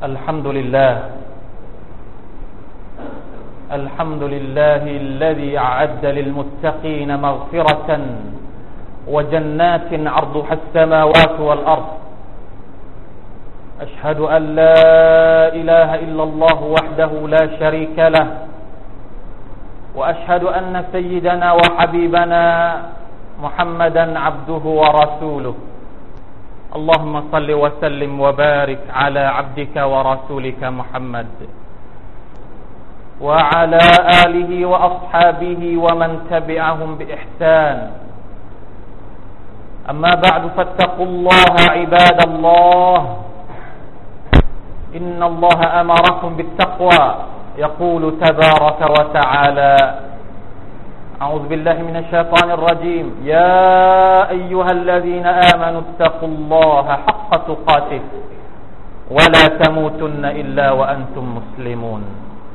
الحمد لله الذي أعد للمتقين مغفرة وجنات عرضها السماوات والأرض أشهد أن لا إله إلا الله وحده لا شريك له وأشهد أن سيدنا وحبيبنا محمدا عبده ورسوله اللهم صل وسلم وبارك على عبدك ورسولك محمد وعلى آله وأصحابه ومن تبعهم بإحسان أما بعد فاتقوا الله عباد الله إن الله أمركم بالتقوى يقول تبارك وتعالى أعوذ بالله من الشيطان الرجيم يا أيها الذين آمنوا اتقوا الله حق تقاته ولا تموتن إلا وأنتم مسلمون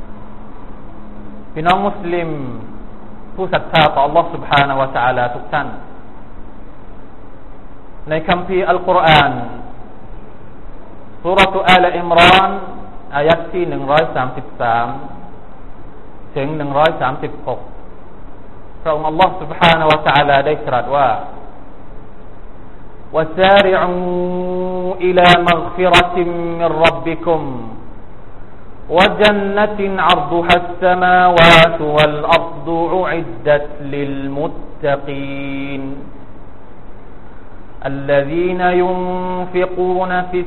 พี่น้องมุสลิมผู้ศรัทธาต่อ Allah سبحانه และ تعالى ทุกท่านในคัมภีร์อัลกุรอานซูเราะห์อาลอิมรานอายะห์ที่133ถึง136พระองค์ Allah سبحانه และ تعالى ได้ตรัสว่า وسارعوا إلى مغفرة من ربكم وجنة عرضها السماوات والأرض أعدت للمتقين الذين ينفقون في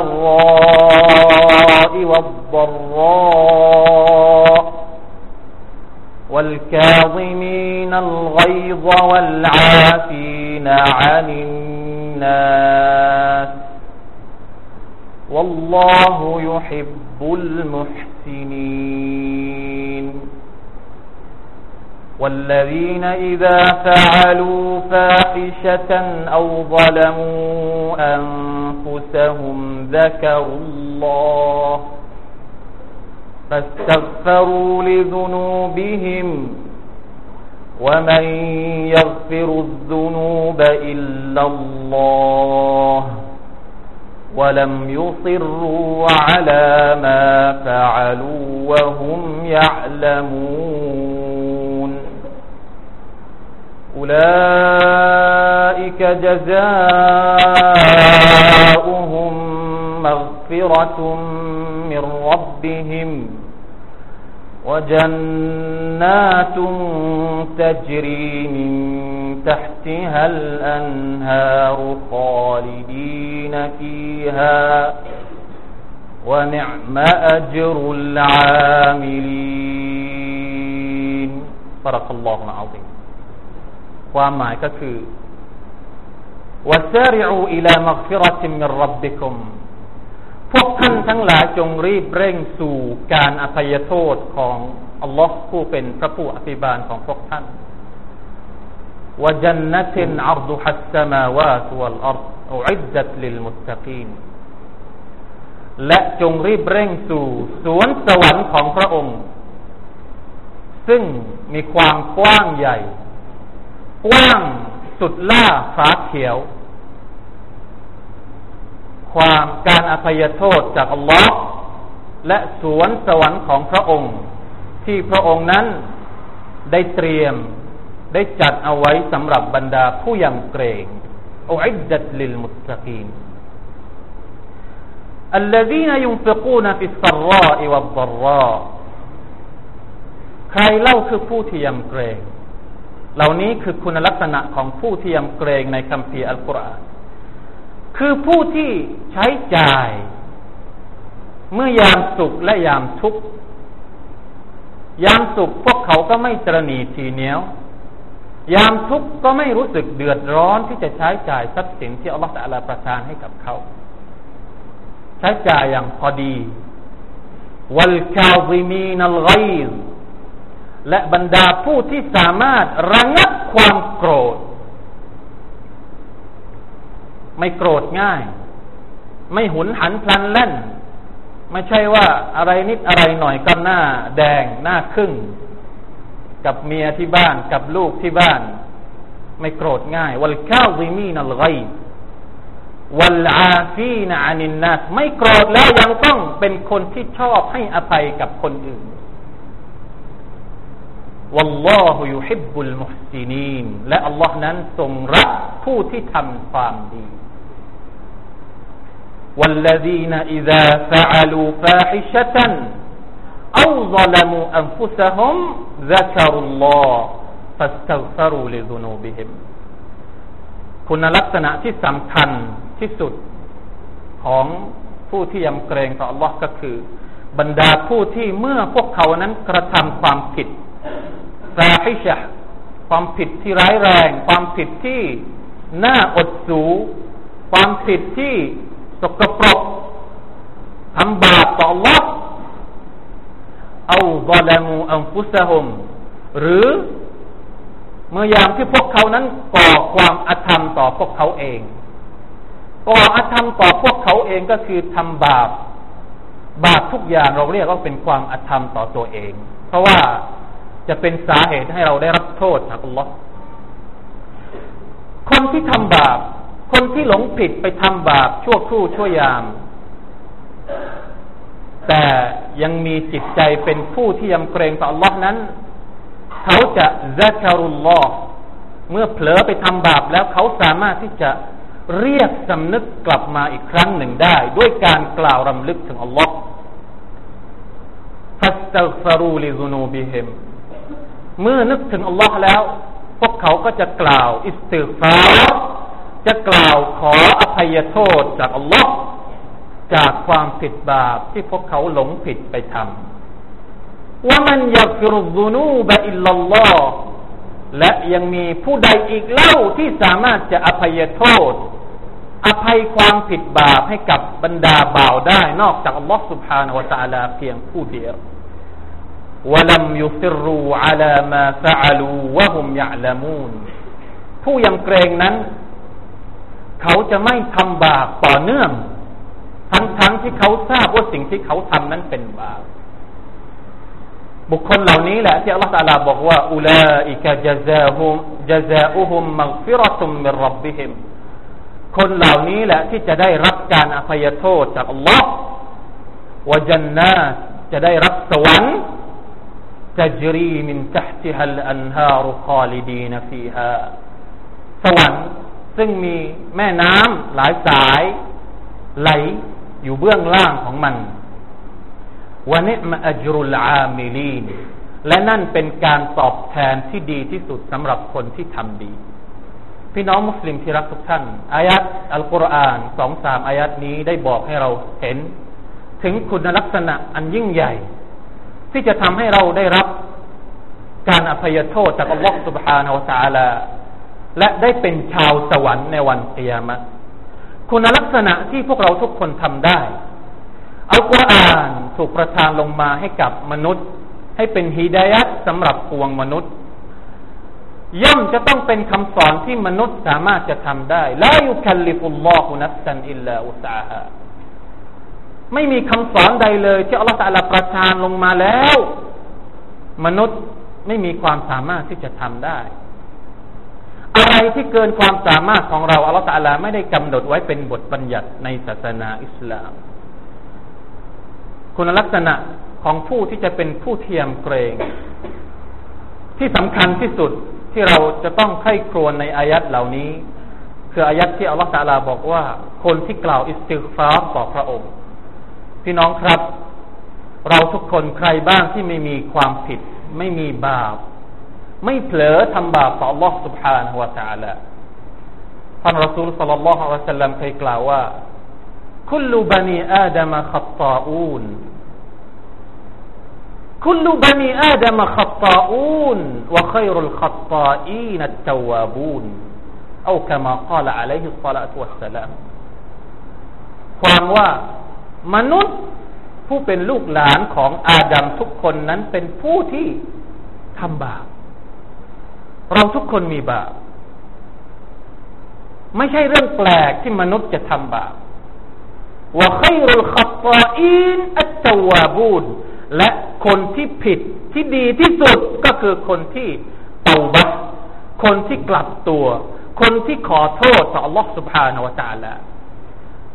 السراء والضراء والكاظمين الغيظ والعافين عن الناس والله يحب المحسنين والذين إذا فعلوا فاحشة أو ظلموا أنفسهم ذكروا الله فاستغفروا لذنوبهم ومن يغفر الذنوب إلا الله ولم يصروا على ما فعلوا وهم يعلمون أولئك جزاؤهم مغفرة من ربهم وجنات تجري من تحتها الأنهار خالدين فيها ونعم أجر العاملين صدق الله العظيم ความหมายก็คือ وسارعوا إلى مغفرة من ربكم พวกท่านทั้งหลายจงรีบเร่งสู่การอภัยโทษของอัลลอฮ์ผู้เป็นพระผู้อภิบาลของพวกท่านวะญันนะตินอัรดุฮัสสมาวาตวัลอัรฎอุอิดดัตลิลมุตตะกีนและจงรีบเร่งสู่สวนสวรรค์ของพระองค์ซึ่งมีความกว้างใหญ่กว้างสุดล่าฟ้าเขียวความการอภัยโทษจากอัลลอฮ์และสวนสวรรค์ของพระองค์ที่พระองค์นั้นได้เตรียมได้จัดเอาไว้สำหรับบรรดาผู้ยำเกรงอุอิดดัตลิลมุตตะกีนالذين ينفقون في السراء والضراء ใครเล่าคือผู้ที่ยำเกรงเหล่านี้คือคุณลักษณะของผู้ที่ยำเกรงในคัมภีร์อัลกุรอานคือผู้ที่ใช้จ่ายเมื่อยามสุขและยามทุกข์ยามสุขพวกเขาก็ไม่ตระหนี่ทีเหนียวยามทุกข์ก็ไม่รู้สึกเดือดร้อนที่จะใช้จ่ายทรัพย์สินที่อัลลอฮฺตะอาลาประทานให้กับเขาใช้จ่ายอย่างพอดีวัลกาซิมีนัลฆอยซและบรรดาผู้ที่สามารถระงับความโกรธไม่โกรธง่ายไม่หุนหันพลันแล่นไม่ใช่ว่าอะไรนิดอะไรหน่อยก็หน้าแดงหน้าขึ้นกับเมียที่บ้านกับลูกที่บ้าน ไม่โกรธง่ายวัลกาซิมีนัลฆอยซวัลอาฟีนอานินนัสไม่โกรธแล้วยังต้องเป็นคนที่ชอบให้อภัยกับคนอื่นวัลลอฮุยุฮิบบุลมุฮซินีนและอัลลอฮ์นั้นทรงรักผู้ที่ทำความดีوالذين إذا فعلوا فاحشة أو ظلموا أنفسهم ذكروا الله فاستغفروا لذنوبهم คุณลักษณะที่สำคัญที่สุดของผู้ที่ยำเกรงต่อ Allah ก็คือบรรดาผู้ที่เมื่อพวกเขานั้นกระทำความผิดฟาฮิชะห์ความผิดที่ร้ายแรงความผิดที่น่าอดสูความผิดที่สกปรกทำบาปต่อ Allah เอาซอลามูอันฟุซะฮุมหรือเมื่อยามที่พวกเขานั้นก่อความอธรรมต่อพวกเขาเองก่ออธรรมต่อพวกเขาเองก็คือทำบาปทุกอย่างเราเรียกว่าเป็นความอธรรมต่อตัวเองเพราะว่าจะเป็นสาเหตุให้เราได้รับโทษจากอัลลอฮ์คนที่ทำบาปคนที่หลงผิดไปทำบาปชั่วครู่ชั่วยามแต่ยังมีจิตใจเป็นผู้ที่ยำเกรงต่ออัลลอฮ์นั้นเขาจะซะกะรุลลอฮ์เมื่อเผลอไปทำบาปแล้วเขาสามารถที่จะเรียกสำนึกกลับมาอีกครั้งหนึ่งได้ด้วยการกล่าวรำลึกถึงอัลลอฮ์ฟัสตัฆฟารูลิซุนูบิฮิมเมื่อนึกถึงอัลลอฮ์แล้วพวกเขาก็จะกล่าวอิสติฆฟารจะกล่าวขออภัยโทษจากอัลลอฮ์จากความผิดบาปที่พวกเขาหลงผิดไปทำว่ามันยักฟิรุซุนูบะอิลลัลลอฮ์และยังมีผู้ใดอีกเล่าที่สามารถจะอภัยโทษอภัยความผิดบาปให้กับบรรดาบ่าวได้นอกจากอัลลอฮ์ سبحانه และ تعالى เพียงผู้เดียวوَلَمْ يُصِرُّوا عَلَى مَا فَعَلُوا وَهُمْ يَعْلَمُونَ ผู้ยำเกรงนั้นเขาจะไม่ทำบาปต่อเนื่องทั้งที่เขาทราบว่าสิ่งที่เขาทำนั้นเป็นบาปบุคคลเหล่านี้แหละที่อัลลอฮฺตะอาลาบอกว่าอุลาอิกะญะซาอุฮุมมัฆฟิเราะตุมมินร็อบบิฮิมคนเหล่านี้แหละที่จะได้รับการอภัยโทษจากอัลลอฮฺวะญันนาตจะได้รับสวรรค์تجري من تحتها الأنهار خالدين فيها สวรรค์ซึ่งมีแม่น้ำหลายสายไหลอยู่เบื้องล่างของมันวะนิอ์มะอัจรุลอามิลีนและนั่นเป็นการตอบแทนที่ดีที่สุดสำหรับคนที่ทำดีพี่น้องมุสลิมที่รักทุกท่านอายัดอัลกุรอาน 2-3 อายัดนี้ได้บอกให้เราเห็นถึงคุณลักษณะอันยิ่งใหญ่ที่จะทำให้เราได้รับการอภัยโทษจากอัลลอฮฺ سبحانه และ تعالى และได้เป็นชาวสวรรค์ในวันกิยามะห์คุณลักษณะที่พวกเราทุกคนทำได้อัลกุรอานถูกประทานลงมาให้กับมนุษย์ให้เป็นฮิดายะห์สำหรับปวงมนุษย์ย่อมจะต้องเป็นคำสอนที่มนุษย์สามารถจะทำได้ลายุคัลลิฟุลลอฮุนัฟซันอิลลาอุสอาฮาไม่มีคำสอนใดเลยที่อัลลอฮฺตะอาลาประทานลงมาแล้วมนุษย์ไม่มีความสามารถที่จะทำได้อะไรที่เกินความสามารถของเราอัลลอฮฺตะอาลาไม่ได้กำหนดไว้เป็นบทบัญญัติในศาสนาอิสลามคุณลักษณะของผู้ที่จะเป็นผู้เทียมเกรงที่สำคัญที่สุดที่เราจะต้องใคร่ครวญในอายัดเหล่านี้คืออายัดที่อัลลอฮฺตะอาลาบอกว่าคนที่กล่าวอิสติฆฟารต่อพระองค์พี่น้องครับเราทุกคนใครบ้างที่ไม่มีความผิดไม่มีบาปไม่เผลอทำบาปต่อ Allah سبحانه และ تعالى ท่านรอซูลศ็อลลัลลอฮุอะลัยฮิวะซัลลัมเคยกล่าวว่าคุลบะนีอาดัมขัฏฏาอูนคุลบะนีอาดัมขัฏฏาอูนวะค็อยรุลขัฏฏาอีนอัตตาวาบูนเอาคามากาลอะลัยฮิศศอลาตุวัสสลามความว่ามนุษย์ผู้เป็นลูกหลานของอาดัมทุกคนนั้นเป็นผู้ที่ทำบาปเราทุกคนมีบาปไม่ใช่เรื่องแปลกที่มนุษย์จะทำบาปวะค็อยรุลขัฏฏาอีนอัตตาวาบูนและคนที่ผิดที่ดีที่สุดก็คือคนที่เตาบะห์คนที่กลับตัวคนที่ขอโทษต่อ Allah سبحانه และ تعالى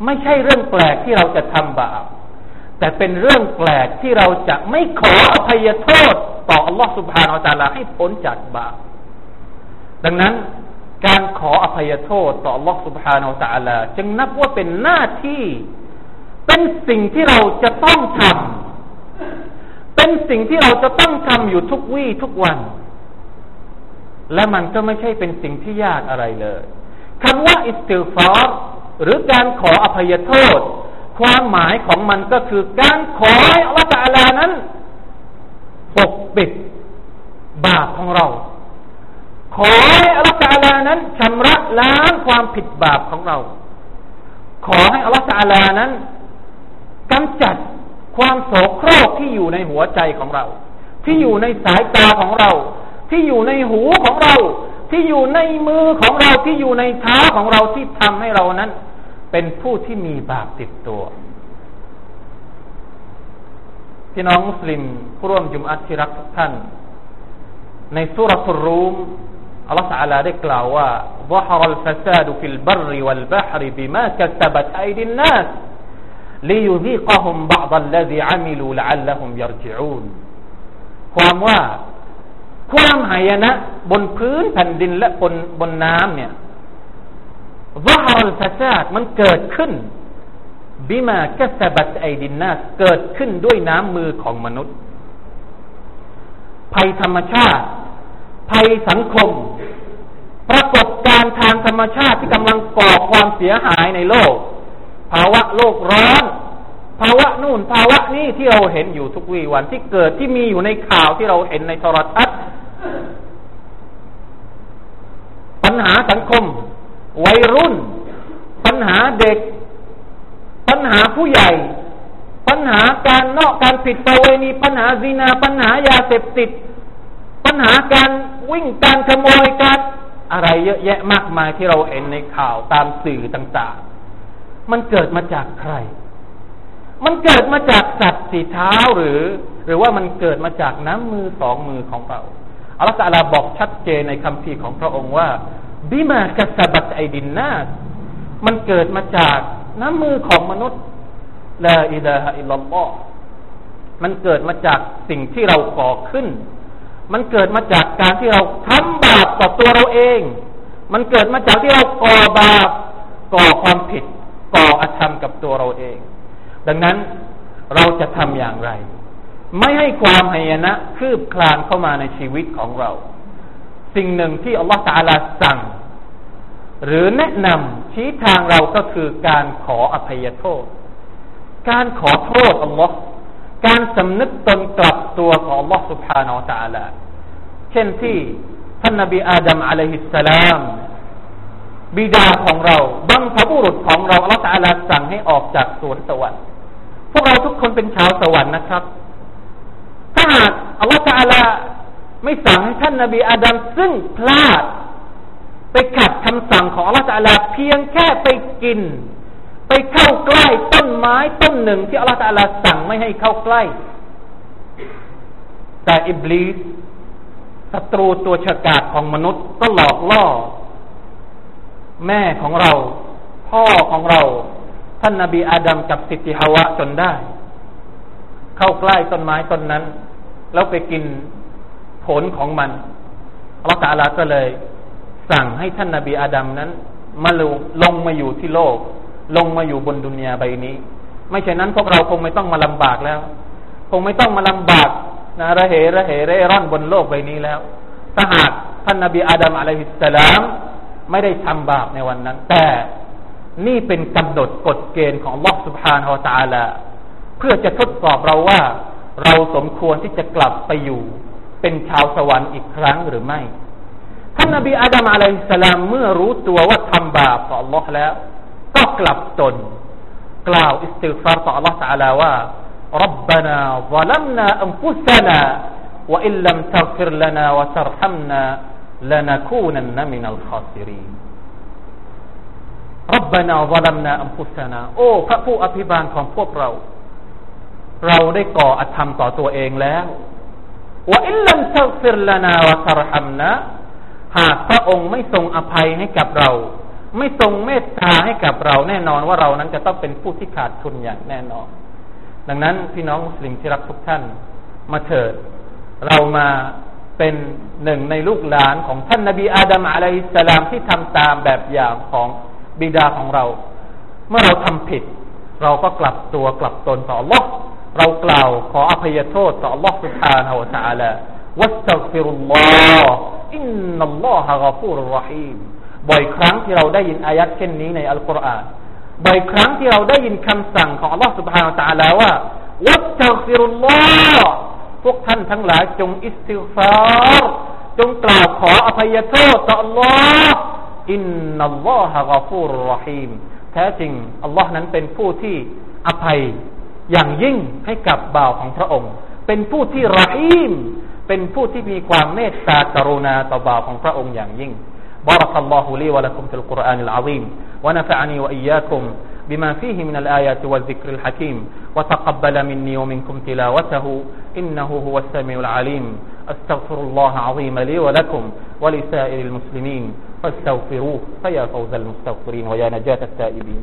ไม่ใช่เรื่องแปลกที่เราจะทำบาปแต่เป็นเรื่องแปลกที่เราจะไม่ขออภัยโทษต่ออัลลอฮฺซุบฮานะฮูวะตะอาลาให้พ้นจากบาปดังนั้นการขออภัยโทษต่ออัลลอฮฺซุบฮานะฮูวะตะอาลาจึงนับว่าเป็นหน้าที่เป็นสิ่งที่เราจะต้องทำเป็นสิ่งที่เราจะต้องทำอยู่ทุกวี่ทุกวันและมันก็ไม่ใช่เป็นสิ่งที่ยากอะไรเลยคำว่าอิสติฆฟารหรือการขออภัยโทษความหมายของมันก็คือการขอให้อัลลอฮฺตะอาลานั้นปกปิดบาปของเราขอให้อัลลอฮฺตะอาลานั้นชำระล้างความผิดบาปของเราขอให้อัลลอฮฺตะอาลานั้นกำจัดความโสโครกที่อยู่ในหัวใจของเราที่อยู่ในสายตาของเราที่อยู่ในหูของเราที่อยู่ในมือของเราที่อยู่ในเท้าของเราที่ทำให้เรานั้นเป็นผู้ที่มีบาปติดตัวพี่น้องมุสลิมผู้ร่วมจุมอะห์ที่รักทุกท่านในซูเราะตุรรูมอัลเลาะห์ตะอาลาได้กล่าวว่า ظهر الفساد في البر والبحر بما كسبت أيدي الناس ليذيقهم بعض الذي عملوا لعلهم يرجعون ความว่าความหายนะบนพื้นแผ่นดินและบนน้ำเนี่ย ظهر الفساد มันเกิดขึ้น بما كسبت أيدي الناس เกิดขึ้นด้วยน้ำมือของมนุษย์ภัยธรรมชาติภัยสังคมปรากฏการณ์ทางธรรมชาติที่กำลังก่อความเสียหายในโลกภาวะโลกร้อนภาวะนู่นภาวะนี้ที่เราเห็นอยู่ทุกวี่วันที่เกิดที่มีอยู่ในข่าวที่เราเห็นในโทรทัศน์ปัญหาสังคมวัยรุ่นปัญหาเด็กปัญหาผู้ใหญ่ปัญหาการผิดประเวณีปัญหาซินาปัญหายาเสพติดปัญหาการวิ่งการขโมยการอะไรเยอะแยะมากมายที่เราเห็นในข่าวตามสื่อต่างๆมันเกิดมาจากใครมันเกิดมาจากสัตว์สี่เท้าหรือว่ามันเกิดมาจากน้ำมือสองมือของเราอัลเลาะห์ตะอาลาบอกชัดเจนในคัมภีร์ของพระองค์ว่าบิมากัสบัตไอดินนาสมันเกิดมาจากน้ำมือของมนุษย์ลาอิลาฮะอิลลัลลอฮ์มันเกิดมาจากสิ่งที่เราก่อขึ้นมันเกิดมาจากการที่เราทำบาปต่อตัวเราเองมันเกิดมาจากที่เราก่อบาปก่อความผิดก่ออธรรมกับตัวเราเองดังนั้นเราจะทำอย่างไรไม่ให้ความหายนะคืบคลานเข้ามาในชีวิตของเราสิ่งหนึ่งที่อัลลอฮฺตะอาลาสั่งหรือแนะนำชี้ทางเราก็คือการขออภัยโทษการขอโทษอัลลอฮฺการสำนึกตนกลับตัวของอัลลอฮฺ سبحانه และ تعالى เช่นที่ท่านนบีอาดัมอะลัยฮิสสลามบิดาของเราบัพบุรุษของเราอัลลอฮฺ تعالى สั่งให้ออกจากสวนสวรรค์พวกเราทุกคนเป็นชาวสวรรค์นะครับถ้าหากอัลลอฮฺ تعالى ไม่สั่งให้ท่านนบีอาดัมซึ่งพลาดไปขัดคำสั่งของอัลลอฮฺ تعالى เพียงแค่ไปกินไปเข้าใกล้ต้นไม้ต้นหนึ่งที่อัลลอฮฺตะอาลาสั่งไม่ให้เข้าใกล้แต่อิบลิสศัตรูตัวฉกาจของมนุษย์ก็หลอกล่อแม่ของเราพ่อของเราท่านนบีอาดัมกับสิทธิฮาวะจนได้เข้าใกล้ต้นไม้ต้นนั้นแล้วไปกินผลของมันอัลลอฮฺตะอาลาก็เลยสั่งให้ท่านนบีอาดัมนั้นมาลงมาอยู่ที่โลกลงมาอยู่บนดุนยาใบนี้ไม่เช่นนั้นพวกเราคงไม่ต้องมาลำบากแล้วคงไม่ต้องมาลำบากนะระเหเร่ร่อนบนโลกใบนี้แล้วถ้าหากท่านนบีอาดัมอะลัยฮิสสลามไม่ได้ทำบาปในวันนั้นแต่นี่เป็นกำหนดกฎเกณฑ์ของอัลเลาะห์ซุบฮานะฮูวะตะอาลาเพื่อจะทดสอบเราว่าเราสมควรที่จะกลับไปอยู่เป็นชาวสวรรค์อีกครั้งหรือไม่ท่านนบีอาดัมอะลัยฮิสสลามเมื่อรู้ตัวว่าทำบาปต่ออัลเลาะห์แล้วก็กลับตนกล่าวอิสติฆฟารต่อ Allah Taala ว่า ربنا ظلمنا أنفسنا وإن لم تغفر لنا وترحمنا لنكونن من الخاسرين ربنا ظلمنا أنفسنا โอ้พระผู้อภิบาลของพวกเราได้ก่ออธรรมต่อตัวเองแล้ว وإن لم تغفر لنا وترحمنا หากพระองค์ไม่ทรงอภัยให้กับเราไม่ทรงเมตตาให้กับเราแน่นอนว่าเรานั้นจะต้องเป็นผู้ที่ขาดทุนอย่างแน่นอนดังนั้นพี่น้องมุสลิมที่รักทุกท่านมาเถิดเรามาเป็นหนึ่งในลูกหลานของท่านนบีอาดัมอะลัยฮิสสลามที่ทำตามแบบอย่างของบิดาของเราเมื่อเราทำผิดเราก็กลับตัวกลับตนต่อ Allah เรากล่าวขออภัยโทษต่อ Allah سبحانه และ تعالى วัสตัฆฟิรุลลอฮ์อินนัลลอฮะฆอฟูรุรเราะฮีมบ่อยครั้งที่เราได้ยินอายัดเช่นนี้ในอัลกุรอานบ่อยครั้งที่เราได้ยินคำสั่งของ Allah سبحانه และ تعالى ว่าวัสตัฆฟิรุลลอฮ์พวกท่านทั้งหลายจงอิสติฆฟารจงกล่าวขออภัยโทษต่อ Allah อินนัลลอฮะฆอฟูรุรเราะฮีมแท้จริงอัลลอฮ์นั้นเป็นผู้ที่อภัยอย่างยิ่งให้กับบ่าวของพระองค์เป็นผู้ที่รอฮีมเป็นผู้ที่มีความเมตตากรุณาต่อบ่าวของพระองค์อย่างยิ่งبارك الله لي ولكم في القرآن العظيم ونفعني وإياكم بما فيه من الآيات والذكر الحكيم وتقبل مني ومنكم تلاوته إنه هو السميع العليم أستغفر الله العظيم لي ولكم ولسائر المسلمين فاستغفروه فيا فوز المستغفرين ويا نجاة التائبين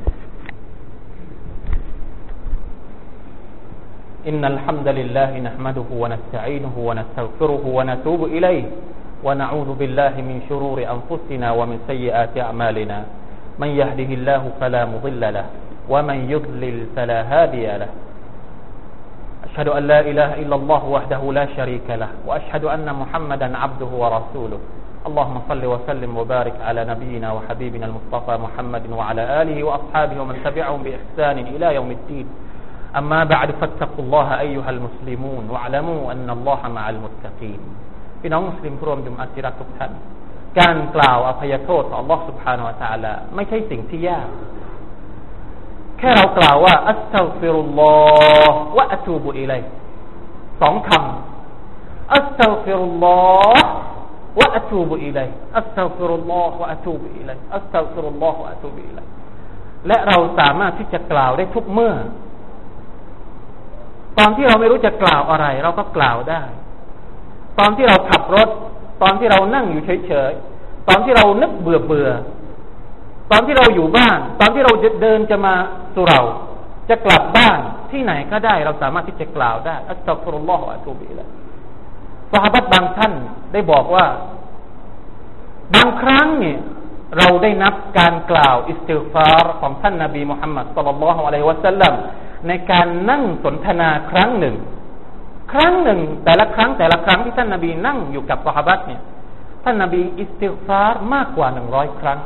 إن الحمد لله نحمده ونستعينه ونستغفره ونتوب إليه ونعوذ بالله من شرور أنفسنا ومن سيئات أعمالنا من يهده الله فلا مضل له ومن يضلل فلا هادي له أشهد أن لا إله إلا الله وحده لا شريك له وأشهد أن محمدا عبده ورسوله اللهم صل وسلم وبارك على نبينا وحبيبنا المصطفى محمد وعلى آله وأصحابه ومن تبعهم بإحسان إلى يوم الدين أما بعد فاتقوا الله أيها المسلمون واعلموا أن الله مع المتقين พี่น้องมุสลิมผู้ร่วมดุมอัตติรักทุกท่านการกล่าวอภัยโทษต่อ Allah سبحانه และ تعالى ไม่ใช่สิ่งที่ยากแค่เรากล่าวว่าอัสตัฆฟิรุลลอฮ์วะอะตูบุอิลัยฮิสองคำอัสตัฆฟิรุลลอฮ์วะอะตูบุอิลัยฮิอัสตัฆฟิรุลลอฮ์วะอะตูบุอิลัยฮิอัสตัฆฟิรุลลอฮ์วะอะตูบุอิลัยฮิและเราสามารถที่จะกล่าวได้ทุกเมื่อตอนที่เราไม่รู้จะกล่าวอะไรเราก็กล่าวได้ตอนที่เราขับรถตอนที่เรานั่งอยู่เฉยๆตอนที่เรานึกเบื่อตอนที่เราอยู่บ้านตอนที่เราเดินจะมาสู่เราจะกลับบ้านที่ไหนก็ได้เราสามารถที่จะกล่าวได้อัสตัฆฟิรุลลอฮ์วะอะตูบิอิลัยฮิซอฮาบะห์บางท่านได้บอกว่าบางครั้งเนี่ยเราได้นับการกล่าวอิสติฆฟารของท่านนบีมุฮัมมัดศ็อลลัลลอฮุอะลัยฮิวะซัลลัมในการนั่งสนทนาครั้งหนึ่งแต่ละครั้งที่ท่านนบีนั่งอยู่กับซอฮาบะห์เนี่ยท่านนบีอิสติฆฟารมากกว่า100ครั้ง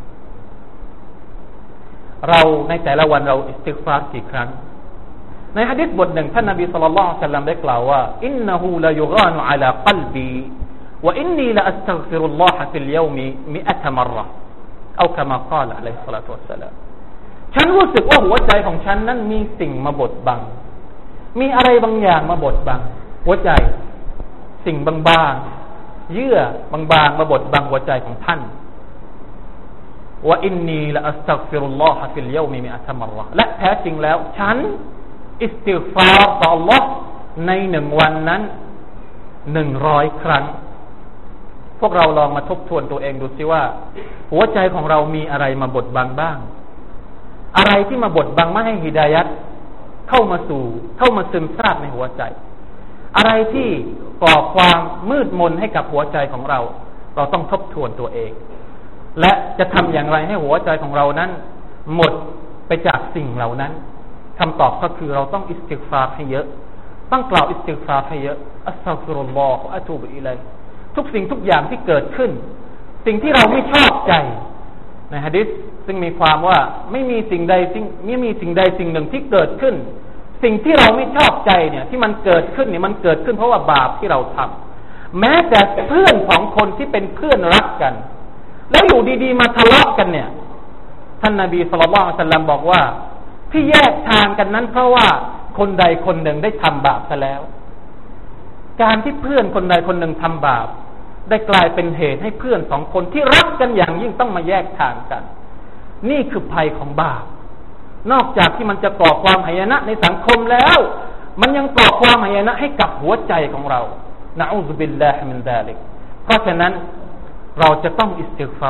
เราในแต่ละวันเราอิสติฆฟารกี่ครั้งในหะดีษบทหนึ่งท่านนบีศ็อลลัลลอฮุอะลัยฮิวะซัลลัมได้กล่าวว่าอินนะฮูลายุฆานุอะลากัลบีวะอินนีละอัสตัฆฟิรุลลอฮะฟิลยอมิ100 مرةเอากะมาقالอะลัยฮิสศอลาตุวัสสลามฉันรู้สึกว่าหัวใจของฉันนั้นมีสิ่งมาบดบังมีอะไรบางอย่างมาบดบังหัวใจสิ่งบางๆเยื่อบางๆมาบดบังหัวใจของท่านว่าอินนีละอัสตัฆฟิรุลลอฮะฟิลยอมิ100 مرةและแท้จริงแล้วฉันอิสติฆฟารต่อ Allah ใน1วันนั้น100ครั้งพวกเราลองมาทบทวนตัวเองดูสิว่าหัวใจของเรามีอะไรมาบดบังบ้างอะไรที่มาบดบังไม่ให้ฮิดายัตเข้ามาซึมซาบในหัวใจอะไรที่ก่อความมืดมนให้กับหัวใจของเราเราต้องทบทวนตัวเองและจะทำอย่างไรให้หัวใจของเรานั้นหมดไปจากสิ่งเหล่านั้นคำตอบก็คือเราต้องอิสติฆฟารให้เยอะต้องกล่าวอิสติฆฟารให้เยอะอัสตัฆฟิรุลลอฮ์วะอะตูบุอิลัยฮิทุกสิ่งทุกอย่างที่เกิดขึ้นสิ่งที่เราไม่ชอบใจในหะดีษซึ่งมีความว่าไม่มีสิ่งใดสิ่งหนึ่งที่เกิดขึ้นสิ่งที่เราไม่ชอบใจเนี่ยที่มันเกิดขึ้นเนี่ยมันเกิดขึ้นเพราะว่าบาปที่เราทำแม้แต่เพื่อนของคนที่เป็นเพื่อนรักกันแล้วอยู่ดีๆมาทะเลาะกันเนี่ยท่านนบีศ็อลลัลลอฮุอะลัยฮิวะซัลลัมบอกว่าที่แยกทางกันนั้นเพราะว่าคนใดคนหนึ่งได้ทำบาปซะแล้วการที่เพื่อนคนใดคนหนึ่งทำบาปได้กลายเป็นเหตุให้เพื่อนสองคนที่รักกันอย่างยิ่งต้องมาแยกทางกันนี่คือภัยของบาปนอกจากที่มันจะก่อความหายนะในสังคมแล้วมันยังก่อความหายนะให้กับหัวใจของเรานะอูซุบิลลาฮิมินซาลิกเพราะฉะนั้นเราจะต้องอิสติฆฟาร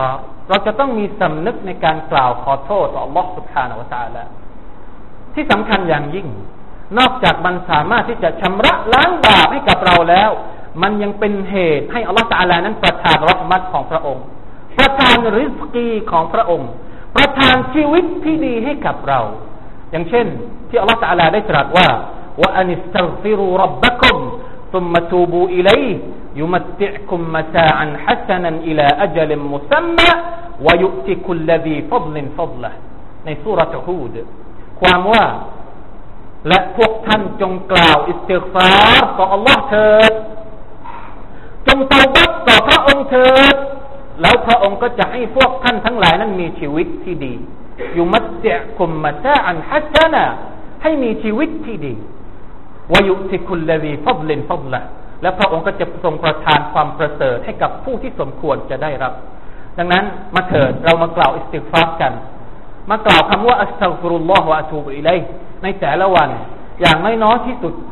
เราจะต้องมีสำนึกในการกล่าวขอโทษต่อ Allah سبحانه และ تعالى ที่สำคัญอย่างยิ่งนอกจากมันสามารถที่จะชำระล้างบาปให้กับเราแล้วมันยังเป็นเหตุให้ Allah تعالى นั้นประทานเราะห์มัตของพระองค์ประทานริซกีของพระองค์ประทานชีวิตที่ดีให้กับเราอย่างเช่นที่ Allah تعالى ได้ตรัสว่าว่าอันิสตัฆฟิรูร็อบบักุมซุมมะตูบูอิลัยฮิยุมัตติอ์กุมมะตาอันฮะซะนันอิลาอัจลิมุซัมมะวะยุอ์ติคุลลซีฟัฎลินฟัฎละห์ในซูเราะห์ฮูดความว่าและพวกท่านจงกล่าวอิสติฆฟารต่อ Allah เถิดจงเตาบัตต่อพระองค์เถิดแล้วพระองค์ก็จะให้พวกท่านทั้งหลายนั้นมีชีวิตที่ดียุมัตติอ์กุมมะตาอันฮะซะนะให้มีชีวิตที่ดีวะยุติคุลลซีฟัฎลินฟัฎละห์และพระองค์ก็จะทรงประทานความประเสริฐให้กับผู้ที่สมควรจะได้รับดังนั้นมาเถิดเรามากล่าวอิสติฆฟารกันมากล่าวคำว่าอัสตัฆฟิรุลลอฮ์วะอะตูบุอิลัยฮิในแต่ละวันอย่างน้อยๆที่สุด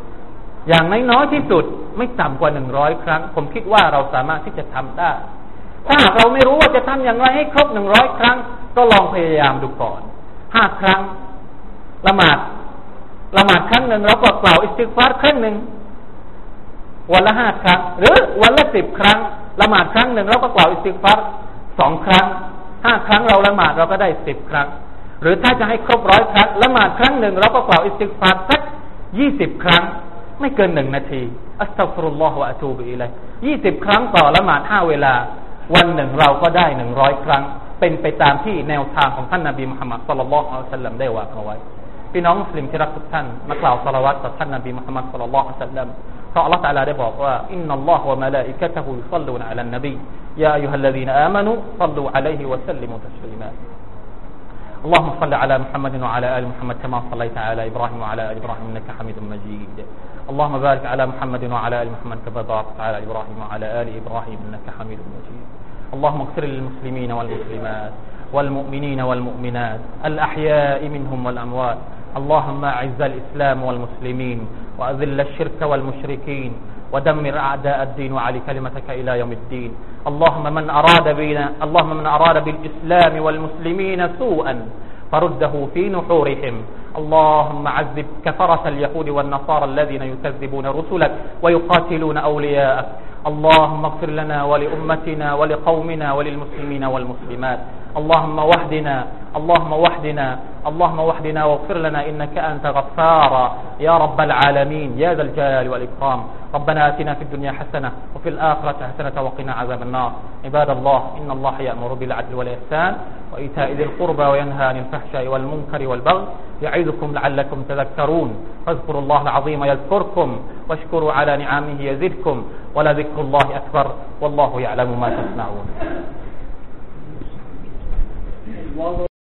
ไม่ต่ำกว่า100ครั้งผมคิดว่าเราสามารถที่จะทำได้ถ้าหากเราไม่รู้ว่าจะทำอย่างไรให้ครบ100ครั้งก็ลองพยายามดูก่อน5ครั้งละหมาดครั้งหนึ่งเราก็กล่าวอิสติฆฟารครั้งหนึ่งวันละ5ครั้งหรือวันละ10ครั้งละหมาดครั้งหนึ่งเราก็กล่าวอิสติฆฟาร2ครั้ง5ครั้งเราละหมาดเราก็ได้10ครั้งหรือถ้าจะให้ครบ100ครั้งละหมาดครั้งหนึ่งเราก็กล่าวอิสติฆฟารสัก20ครั้งไม่เกิน1นาทีอัสตัฆฟิรุลลอฮ์วะอะตูบุอิลัยฮิ20ครั้งต่อละหมาด5เวลาวันหนึ่งเราก็ได้100ครั้งเป็นไปตามที่แนวทางของท่านนบีมุฮัมมัดศ็อลลัลลอฮุอะลัยฮิวะซัลลัมได้วางเอาไว้พี่น้องมุสลิมที่รักทุกท่านมากล่าวศอลาวาตต่อท่านนบีมุฮัมมัดศ็อลลัลลอฮุอะลัยฮิวะซัลลัมเพราะอัลเลาะห์ตะอาลาได้บอกว่าอินนัลลอฮะวะมะลาอิกะตะฮุยุศ็อลลูนอะลันนบียาอัยยูฮัลลซีนาอามานูศ็อลลูอะลัยฮิวะซัลลิมูตัสลีมา اللهم صل على محمد وعلى آل محمد كما صليت على إبراهيم وعلى آل إبراهيم إنك حميد مجيد اللهم بارك على محمد وعلى آل محمد كما باركت على إبراهيم وعلى آل إبراهيم إنك حميد مجيد اللهم اغفر للمسلمين والمسلمات والمؤمنين والمؤمنات الأحياء منهم والأموات اللهم أعز الإسلام والمسلمين وأذل الشرك والمشركين ودمر أعداء الدين وعلي كلمتك إلى يوم الدين اللهم من أراد بالإسلام والمسلمين سوءا فرده في نحورهم اللهم عذب كفرة اليهود والنصارى الذين يكذبون رسلك ويقاتلون أولياءك اللهم اغفر لنا ولأمتنا ولقومنا وللمسلمين والمسلمات اللهم وحدنا واغفر لنا إنك أنت غفارا يا رب العالمين يا ذا الجلال والإكرام ربنا آتنا في الدنيا حسنة وفي الآخرة حسنة وقنا عذاب النار عباد الله إن الله يأمر بالعدل والإحسان وإيتاء ذي القربى وينهى عن الفحشاء والمنكر والبغي يعظكم لعلكم تذكرون فاذكروا الله العظيم يذكركم واشكروا على نعمه يزدكم ولذكر الله أكبر والله يعلم ما تصنعون